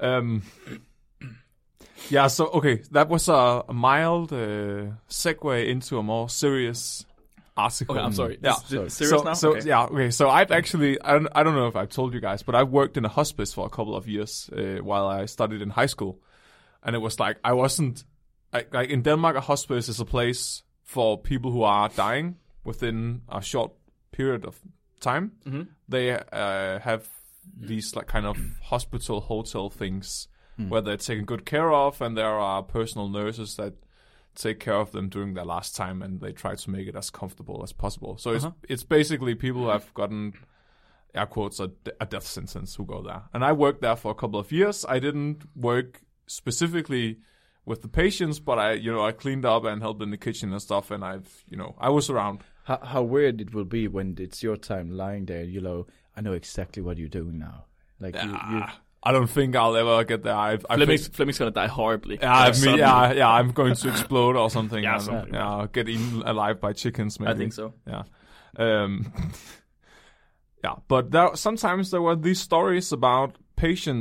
Yeah, so, okay, that was a mild segue into a more serious article. Okay, I'm sorry. Yeah, serious now? So, okay. yeah, okay, so I've actually, I don't know if I've told you guys, but I've worked in a hospice for a couple of years while I studied in high school. And it was like, like in Denmark, a hospice is a place for people who are dying within a short period of time. Mm-hmm. They have these like kind of hospital hotel things where they're taken good care of, and there are personal nurses that take care of them during their last time, and they try to make it as comfortable as possible. So it's basically people who have gotten, air quotes, a death sentence who go there. And I worked there for a couple of years. I didn't work specifically with the patients, but I cleaned up and helped in the kitchen and stuff, and I was around. How weird it will be when it's your time lying there, I know exactly what you're doing now. Like you I don't think I'll ever get there. Fleming's gonna die horribly. I'm going to explode or something. Get eaten alive by chickens, maybe. I think so. Yeah. But sometimes there were these stories about patients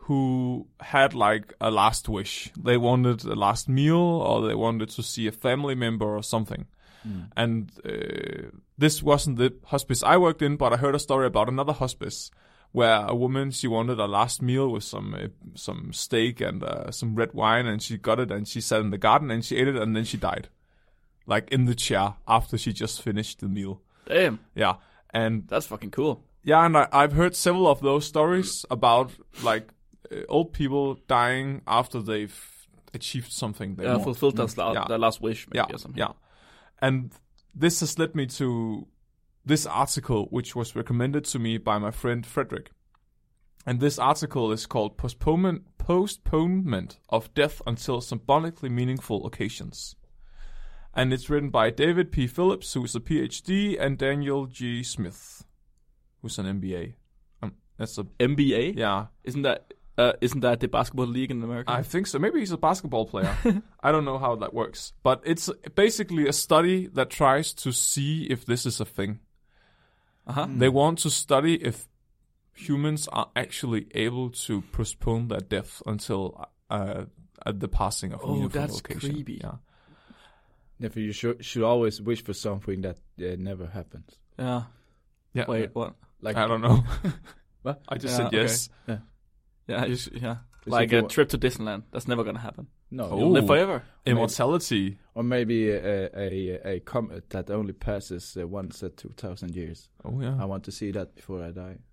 who had like a last wish. They wanted a last meal, or they wanted to see a family member or something. And this wasn't the hospice I worked in, but I heard a story about another hospice where a woman, she wanted a last meal with some steak and some red wine, and she got it and she sat in the garden and she ate it, and then she died, like in the chair after she just finished the meal. Damn. Yeah, and That's fucking cool. yeah, and I've heard several of those stories about like old people dying after they've achieved something they want. Fulfilled their last wish, maybe, or something. Yeah. And this has led me to this article, which was recommended to me by my friend Frederick. And this article is called Postponement of Death Until Symbolically Meaningful Occasions. And it's written by David P. Phillips, who's a PhD, and Daniel G. Smith, who's an MBA. That's a NBA? yeah. Isn't that the basketball league in America? I think so. Maybe he's a basketball player. I don't know how that works. But it's basically a study that tries to see if this is a thing. Uh-huh. They want to study if humans are actually able to postpone their death until at the passing of a meaningful that's occasion. creepy. Yeah. Therefore, you should always wish for something that never happens. Yeah. Yeah. Wait, what? Like I don't know. What? I just Yeah, said yes. Yeah, It's like if a you trip to Disneyland. That's never gonna happen. No, Oh. You'll live forever. Immortality. or maybe a comet that only passes once at 2,000 years. Oh yeah. I want to see that before I die.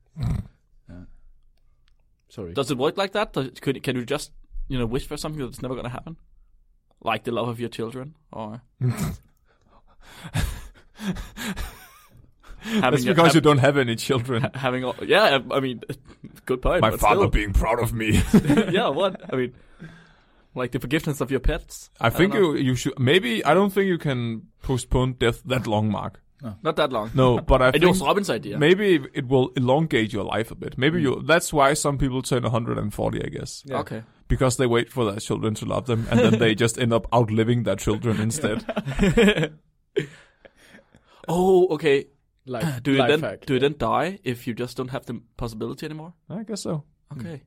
Sorry. Does it work like that? Can you just, wish for something that's never gonna happen? Like the love of your children, or That's because you don't have any children. having all, yeah, I mean, good point. My but father still. being proud of me. Yeah, what? I mean, like the forgiveness of your pets. I think don't know. you should. Maybe I don't think you can postpone death that long, Mark. Not that long. No, but I It think was Robin's idea. maybe it will elongate your life a bit. Maybe that's why some people turn 140, I guess. Yeah. Okay. Because they wait for their children to love them, and then they just end up outliving their children instead. Oh, okay. Life, Do you life then hack. die if you just don't have the possibility anymore? I guess so. Okay.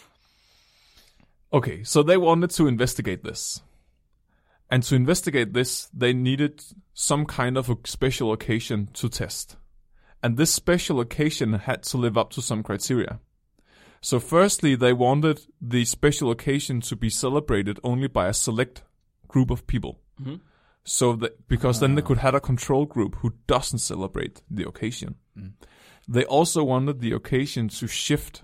Okay, so they wanted to investigate this. And to investigate this, they needed some kind of a special occasion to test. And this special occasion had to live up to some criteria. So firstly, they wanted the special occasion to be celebrated only by a select group of people. Mm-hmm. So that, because then they could have a control group who doesn't celebrate the occasion. They also wanted the occasion to shift,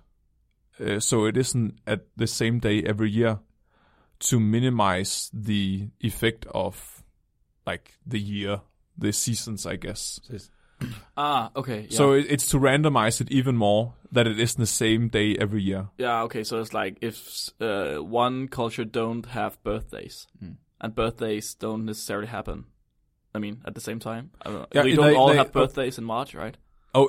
so it isn't at the same day every year, to minimize the effect of like the seasons, I guess. Okay. Yeah. So it's to randomize it even more, that it isn't the same day every year. Yeah, okay, so it's like if one culture don't have birthdays, and birthdays don't necessarily happen, I mean, at the same time. I don't know. Yeah, We don't all they- have birthdays in March, right? Oh,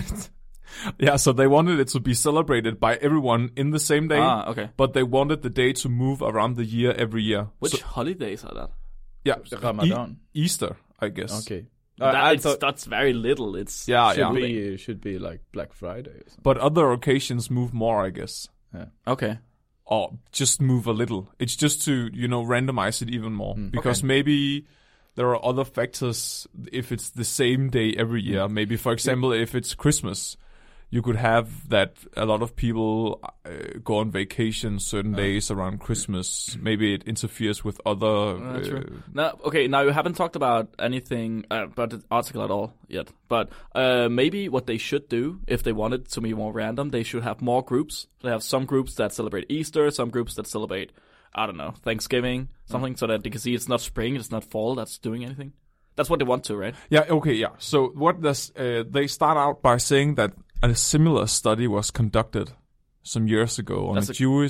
yeah, so they wanted it to be celebrated by everyone in the same day, Okay. but they wanted the day to move around the year every year. Which So, holidays are that? yeah, Ramadan. Easter, I guess. Okay. That's very little. It's Yeah, Should be like Black Friday or something. But other occasions move more, I guess. Okay. Or just move a little. It's just to, randomize it even more. Because maybe there are other factors if it's the same day every year. Maybe, for example, if it's Christmas, you could have that a lot of people go on vacation certain days around Christmas. Maybe it interferes with other... True. Now you haven't talked about anything about the article at all yet. But maybe what they should do, if they want it to be more random, they should have more groups. They have some groups that celebrate Easter, some groups that celebrate, I don't know, Thanksgiving, something, so that they can see it's not spring, it's not fall that's doing anything. That's what they want to, right? Yeah, okay, yeah. So what does... they start out by saying that a similar study was conducted some years ago on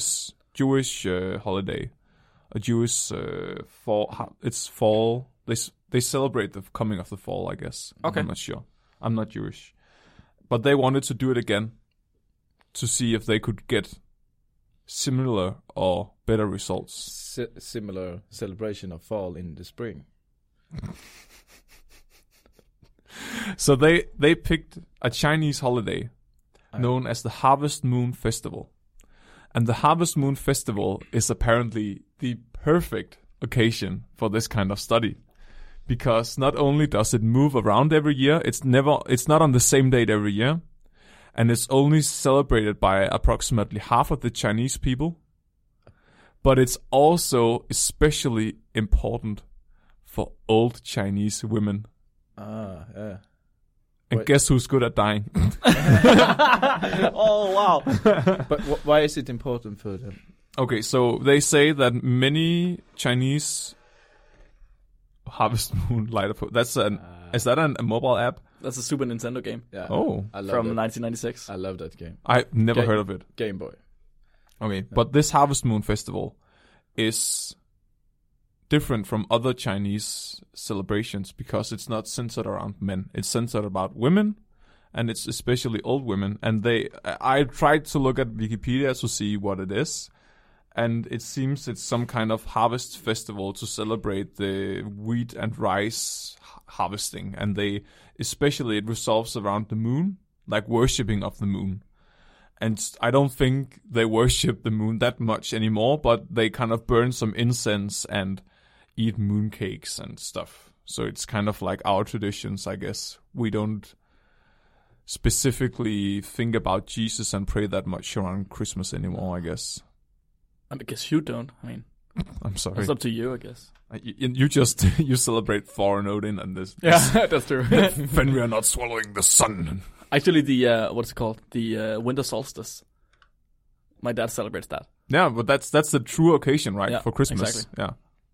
Jewish holiday, a Jewish fall. It's fall. They celebrate the coming of the fall, I guess. Okay. I'm not sure. I'm not Jewish, but they wanted to do it again to see if they could get similar or better results. Similar celebration of fall in the spring. So they picked a Chinese holiday known as the Harvest Moon Festival. And the Harvest Moon Festival is apparently the perfect occasion for this kind of study. Because not only does it move around every year, it's not on the same date every year. And it's only celebrated by approximately half of the Chinese people. But it's also especially important for old Chinese women. Yeah. And guess who's good at dying? Oh, wow. But why is it important for them? Okay, so they say that many Chinese Harvest Moon light up. Is that a mobile app? That's a Super Nintendo game. Yeah. Oh. I love From that. 1996. I love that game. I've never heard of it. Game Boy. Okay, but this Harvest Moon Festival is different from other Chinese celebrations because it's not centered around men. It's centered about women, and it's especially old women. And I tried to look at Wikipedia to see what it is, and it seems it's some kind of harvest festival to celebrate the wheat and rice harvesting. And especially it revolves around the moon, like worshipping of the moon. And I don't think they worship the moon that much anymore, but they kind of burn some incense and eat mooncakes and stuff. So it's kind of like our traditions, I guess. We don't specifically think about Jesus and pray that much around Christmas anymore, I guess. I guess you don't. I mean, I'm sorry. it's up to you, I guess. You just you celebrate Thor and Odin and this. Yeah, that's true. When we are not swallowing the sun. Actually, the what's it called? The winter solstice. My dad celebrates that. Yeah, but that's the true occasion, right? Yeah, for Christmas. exactly. Yeah.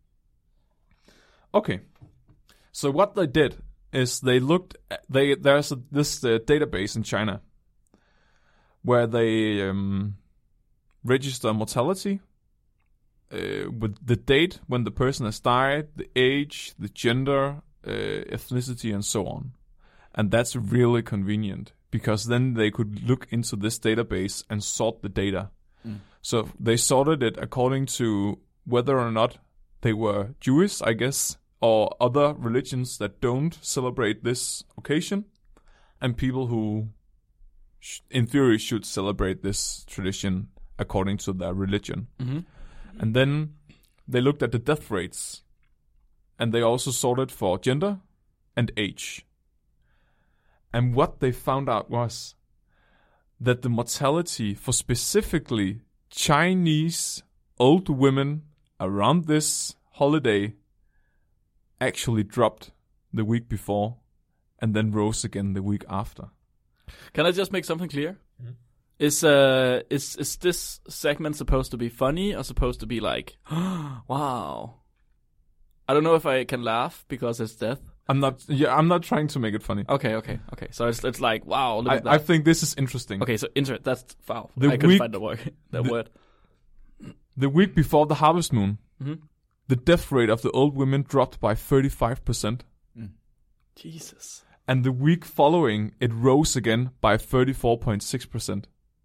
Okay. So what they did is they looked. There's this database in China where they register mortality with the date when the person has died, the age, the gender, ethnicity, and so on. And that's really convenient because then they could look into this database and sort the data. So they sorted it according to whether or not they were Jewish, I guess, or other religions that don't celebrate this occasion, and people who, in theory, should celebrate this tradition according to their religion. Mm-hmm. And then they looked at the death rates, and they also sorted for gender and age. And what they found out was that the mortality for specifically Chinese old women around this holiday actually dropped the week before and then rose again the week after. Can I just make something clear? Mm-hmm. Is this segment supposed to be funny or supposed to be like, wow? I don't know if I can laugh because it's death. I'm not trying to make it funny. Okay. So it's like, wow, look at that. I think this is interesting. Okay, so that's foul. I couldn't find the word. Word. The week before the Harvest Moon, Mm-hmm. the death rate of the old women dropped by 35%. Jesus. And the week following, it rose again by 34.6%.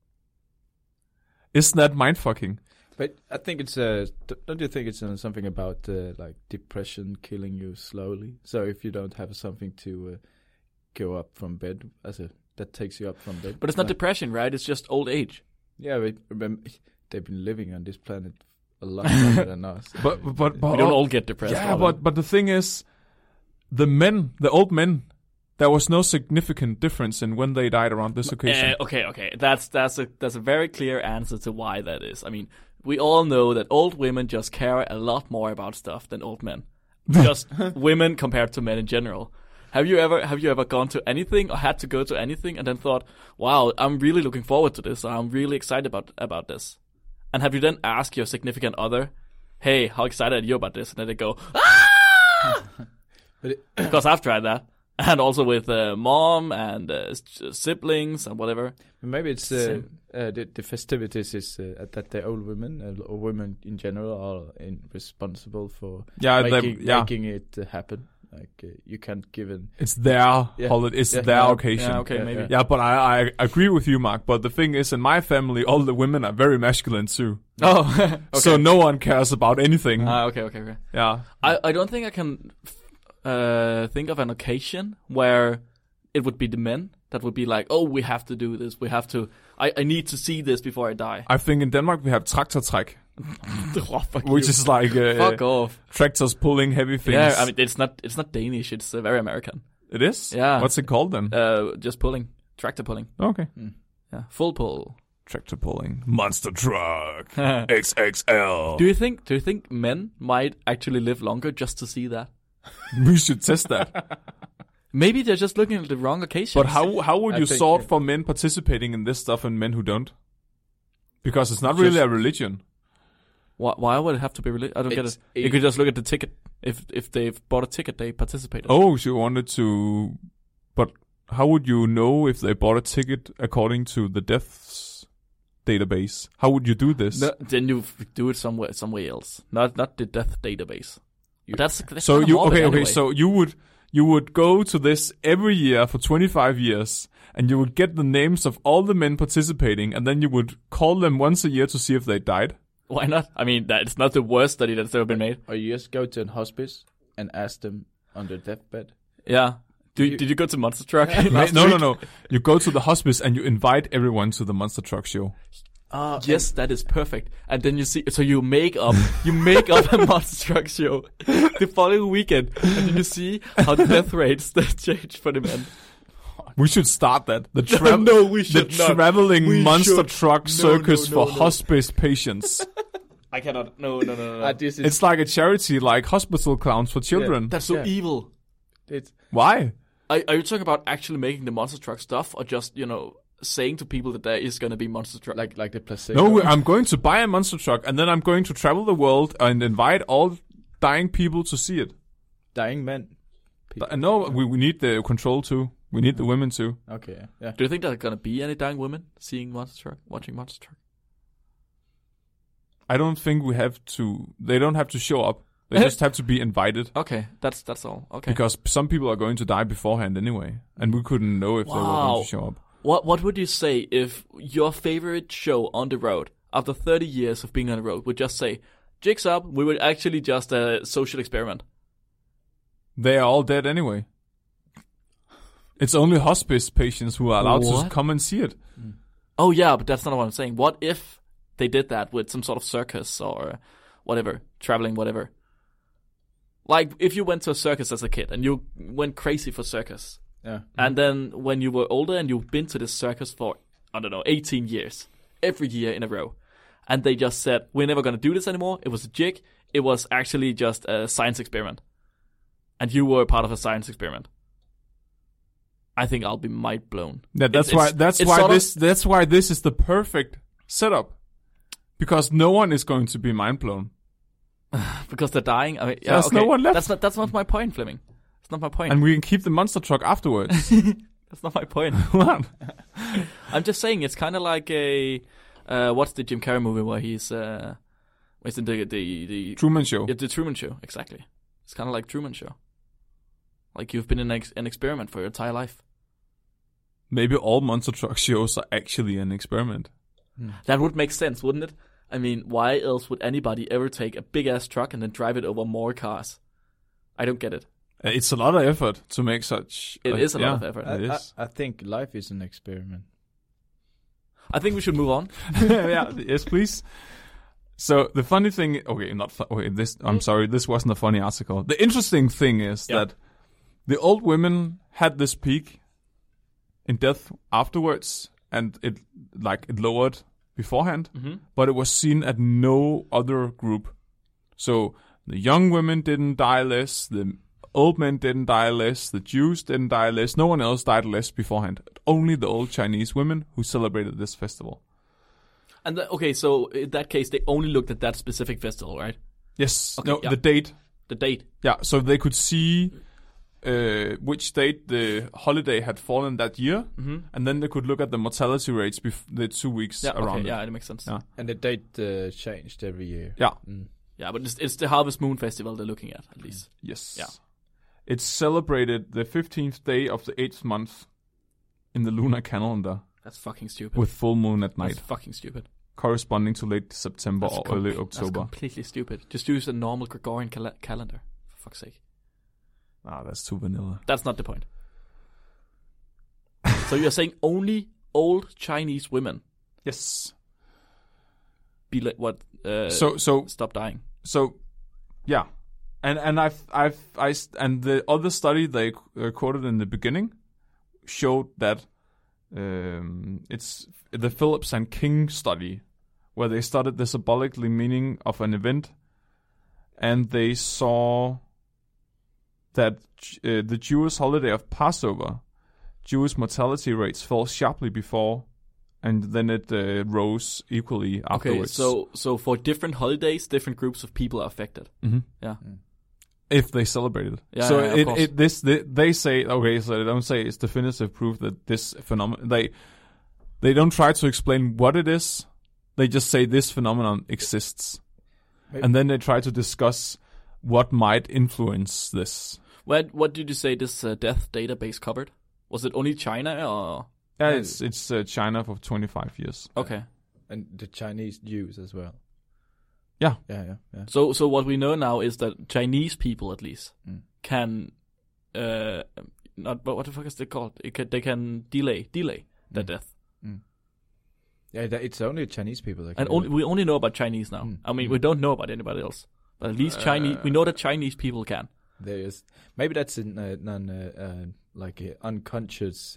Isn't that mindfucking? But I think it's don't you think it's something about like depression killing you slowly? So if you don't have something to go up from bed, that takes you up from bed. But it's not depression, right? It's just old age. Yeah, but remember, they've been living on this planet a lot longer than us. But We don't all get depressed. yeah, all but the thing is, the old men, there was no significant difference in when they died around this occasion. Okay. That's a very clear answer to why that is. I mean, we all know that old women just care a lot more about stuff than old men. Just women compared to men in general. Have you ever gone to anything or had to go to anything and then thought, wow, I'm really looking forward to this, or I'm really excited about this? And have you then asked your significant other, hey, how excited are you about this? And then they go, ah! Because I've tried that. And also with mom and siblings and whatever. Maybe it's the festivities is that the old women or women in general are responsible for making it happen. Like you can't give it. It's their holiday. It's their occasion. Yeah, okay, maybe. Yeah, but I agree with you, Mark. But the thing is, in my family, all the women are very masculine too. Oh, okay. So no one cares about anything. Okay. Yeah. I don't think I can think of an occasion where it would be the men that would be like, oh, we have to do this. We have to. I need to see this before I die. I think in Denmark we have traktortræk, Fuck which you. is like Fuck off. tractors pulling heavy things. Yeah, I mean it's not Danish. It's very American. It is? Yeah. What's it called then? Just pulling, tractor pulling. Okay. Yeah, full pull. Tractor pulling. Monster truck. XXL. Do you think men might actually live longer just to see that? We should test that. Maybe they're just looking at the wrong occasions. But how would I you think- sort for men participating in this stuff and men who don't? Because it's not really a religion. Why would it have to be religious? I don't get it. You could just look at the ticket. If they've bought a ticket, they participated. Oh, so you wanted to... But how would you know if they bought a ticket according to the deaths database? How would you do this? No, then you do it somewhere else. Not the death database. But that's So kinda you morbid anyway. So you would go to this every year for 25 years, and you would get the names of all the men participating, and then you would call them once a year to see if they died. Why not? I mean, it's not the worst study that's ever been made. Or you just go to a hospice and ask them on their deathbed. Yeah. Did you go to Monster Truck? No. You go to the hospice and you invite everyone to the Monster Truck show. Yes, that is perfect. And then you see, so you make up a Monster Truck show the following weekend, and then you see how the death rates change for the men. We should start that. No, we should the not. traveling We Monster should. Truck circus no, for no. hospice patients. I cannot. No. This is, It's like a charity, like hospital clowns for children. That's so Yeah. evil. it's Why? Are you talking about actually making the Monster Truck stuff, or just saying to people that there is going to be Monster Truck? like the placebo. No, I'm going to buy a Monster Truck, and then I'm going to travel the world and invite all dying people to see it. Dying men. No, we need the control too. We need the women too. Okay, yeah. Do you think there's going to be any dying women seeing Monster Truck, watching Monster Truck? I don't think we have to. They don't have to show up. They just have to be invited. Okay, that's all. Okay. Because some people are going to die beforehand anyway, and we couldn't know if they were going to show up. What would you say if your favorite show on the road, after 30 years of being on the road, would just say, "Jigs up, we were actually just a social experiment"? They are all dead anyway. It's only hospice patients who are allowed to come and see it. Oh yeah, but that's not what I'm saying. What if they did that with some sort of circus or whatever, traveling whatever? Like if you went to a circus as a kid and you went crazy for circus. Yeah. And then when you were older and you've been to this circus for, 18 years, every year in a row. And they just said, we're never going to do this anymore. It was a jig. It was actually just a science experiment. And you were part of a science experiment. I think I'll be mind blown. Yeah, that's why this is the perfect setup. Because no one is going to be mind blown. Because they're dying. I mean, yeah, There's okay. no one left. That's not my point, Fleming. That's not my point. And we can keep the monster truck afterwards. That's not my point. What? I'm just saying it's kind of like a what's the Jim Carrey movie where he's in the Truman Show. Yeah, the Truman Show, exactly. It's kind of like Truman Show. Like you've been in an experiment for your entire life. Maybe all monster truck shows are actually an experiment. That would make sense, wouldn't it? I mean, why else would anybody ever take a big ass truck and then drive it over more cars? I don't get it. It's a lot of effort to make such. It is a lot of effort. It is. I think life is an experiment. I think we should move on. Yeah. Yes, please. So the funny thing, I'm sorry, this wasn't a funny article. The interesting thing is that the old women had this peak in death afterwards, and it lowered beforehand, but it was seen at no other group. So the young women didn't die less, the old men didn't die less, the Jews didn't die less, no one else died less beforehand. Only the old Chinese women who celebrated this festival. And so in that case, they only looked at that specific festival, right? Yes. Okay, The date. The date. Yeah, so they could see which date the holiday had fallen that year, and then they could look at the mortality rates the 2 weeks around it. Yeah, it makes sense. Yeah. And the date changed every year. Yeah. Yeah, but it's the Harvest Moon Festival they're looking at least. Yes. Yeah. It's celebrated the 15th day of the 8th month in the lunar calendar That's fucking stupid. with full moon at night, That's fucking stupid. corresponding to late September or early That's October. completely stupid. Just use a normal Gregorian calendar, for fuck's sake. That's too vanilla. That's not the point. So you're saying only old Chinese women Yes. stop dying? So, yeah, and and the other study they quoted in the beginning showed that it's the Phillips and King study, where they studied the symbolically meaning of an event, and they saw that the Jewish holiday of Passover, Jewish mortality rates fell sharply before, and then it rose equally afterwards. Okay, so for different holidays, different groups of people are affected. Mm-hmm. Yeah. If they celebrate it. Yeah, so of course. they say, okay, so they don't say it's definitive proof that this phenomenon, they don't try to explain what it is, they just say this phenomenon exists. Maybe. And then they try to discuss what might influence this. What did you say this death database covered? Was it only China or? Yeah, it's China for 25 years. Okay. And the Chinese Jews as well. Yeah. Yeah. So what we know now is that Chinese people, at least, can not. But what the fuck is it called? They can delay their death. Mm. Yeah, it's only Chinese people that can. And we only know about Chinese now. I mean, we don't know about anybody else. But at least Chinese, we know that Chinese people can. There is maybe that's like an unconscious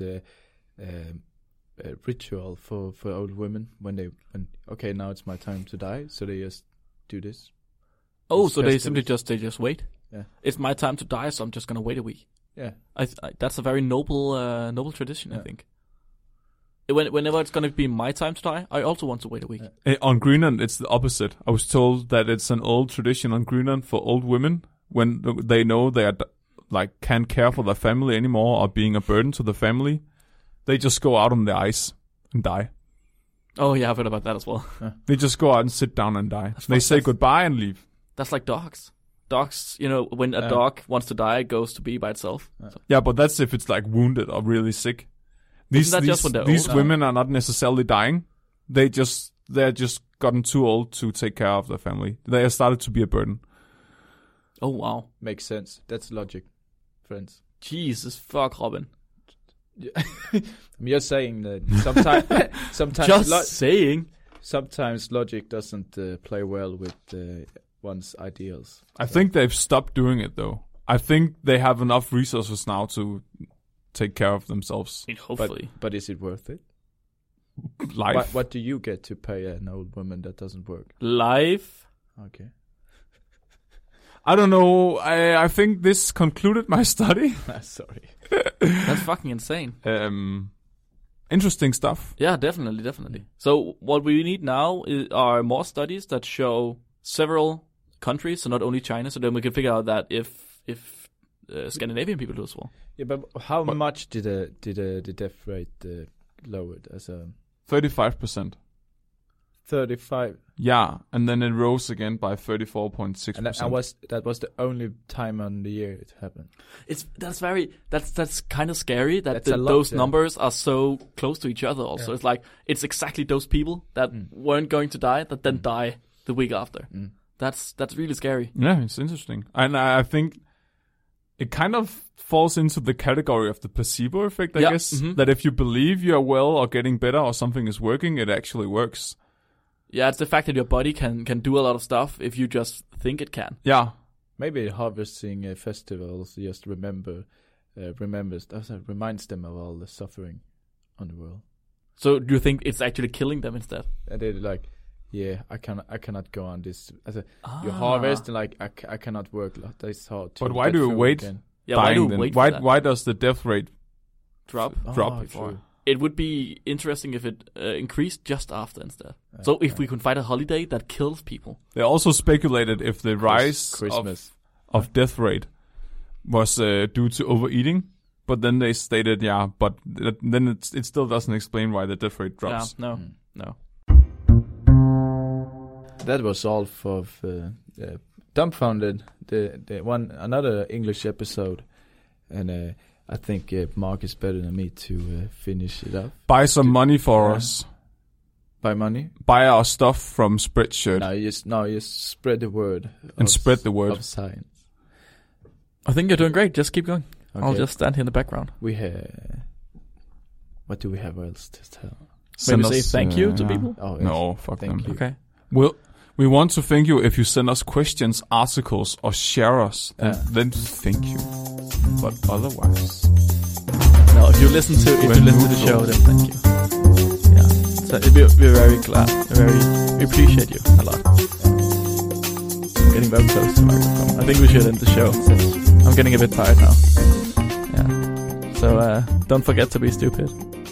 ritual for old women when okay, now it's my time to die, so they just do this. Oh, so they simply just wait. Yeah, it's my time to die, so I'm just gonna wait a week. Yeah, that's a very noble tradition, I think. Whenever it's gonna be my time to die, I also want to wait a week. On Greenland, it's the opposite. I was told that it's an old tradition on Greenland for old women when they know they are can't care for their family anymore or being a burden to the family. They just go out on the ice and die. Oh yeah, I've heard about that as well. They just go out and sit down and die. They say goodbye and leave. That's like dogs. Dogs, when a dog wants to die, it goes to be by itself. So. Yeah, but that's if it's wounded or really sick. These women are not necessarily dying. They're just gotten too old to take care of their family. They have started to be a burden. Oh wow, makes sense. That's logic, friends. Jesus fuck, Robin. I'm just saying that sometimes just saying. Sometimes logic doesn't play well with one's ideals. I think they've stopped doing it though. I think they have enough resources now to take care of themselves. Hopefully. But is it worth it? Life. What do you get to pay an old woman that doesn't work? Life. Okay. I don't know. I think this concluded my study. Sorry. That's fucking insane. Interesting stuff. Yeah, definitely. So what we need now are more studies that show several countries, so not only China, so then we can figure out that if Scandinavian people do as well. Yeah, but how much did the death rate lowered as a 35%? 35. Yeah, and then it rose again by 34.6%. And that was the only time on the year it happened. That's kind of scary that those numbers are so close to each other. Also, it's exactly those people that weren't going to die that then die the week after. That's really scary. Yeah, it's interesting, and I think it kind of falls into the category of the placebo effect. I guess that if you believe you are well or getting better or something is working, it actually works. Yeah, it's the fact that your body can do a lot of stuff if you just think it can. Yeah. Maybe harvesting festivals just reminds them of all the suffering on the world. So do you think it's actually killing them instead? And they're I cannot go on this. You harvest and I cannot work. That's hard. But why do you wait? Yeah, why do you wait? Why does the death rate drop before? True. It would be interesting if it increased just after instead. So if we could find a holiday that kills people. They also speculated if the rise of death rate was due to overeating, but then they stated, but then it still doesn't explain why the death rate drops. Yeah, no. That was all for Dumbfounded, another English episode, and I think Mark is better than me to finish it up. Buy some money for us. Buy money? Buy our stuff from Spreadshirt. Just spread the word. Spread the word of science. I think you're doing great. Just keep going. Okay. I'll just stand here in the background. We have What do we have else to tell? Maybe say thank you to people? Oh, yes. No, fuck Thank them. you. Okay. Well, we want to thank you if you send us questions, articles, or share us. Then thank you. But otherwise, no. If you listen to the show, then thank you. Yeah. So we're very glad. We appreciate you a lot. I'm getting very close to the microphone. I think we should end the show. I'm getting a bit tired now. Yeah. So don't forget to be stupid.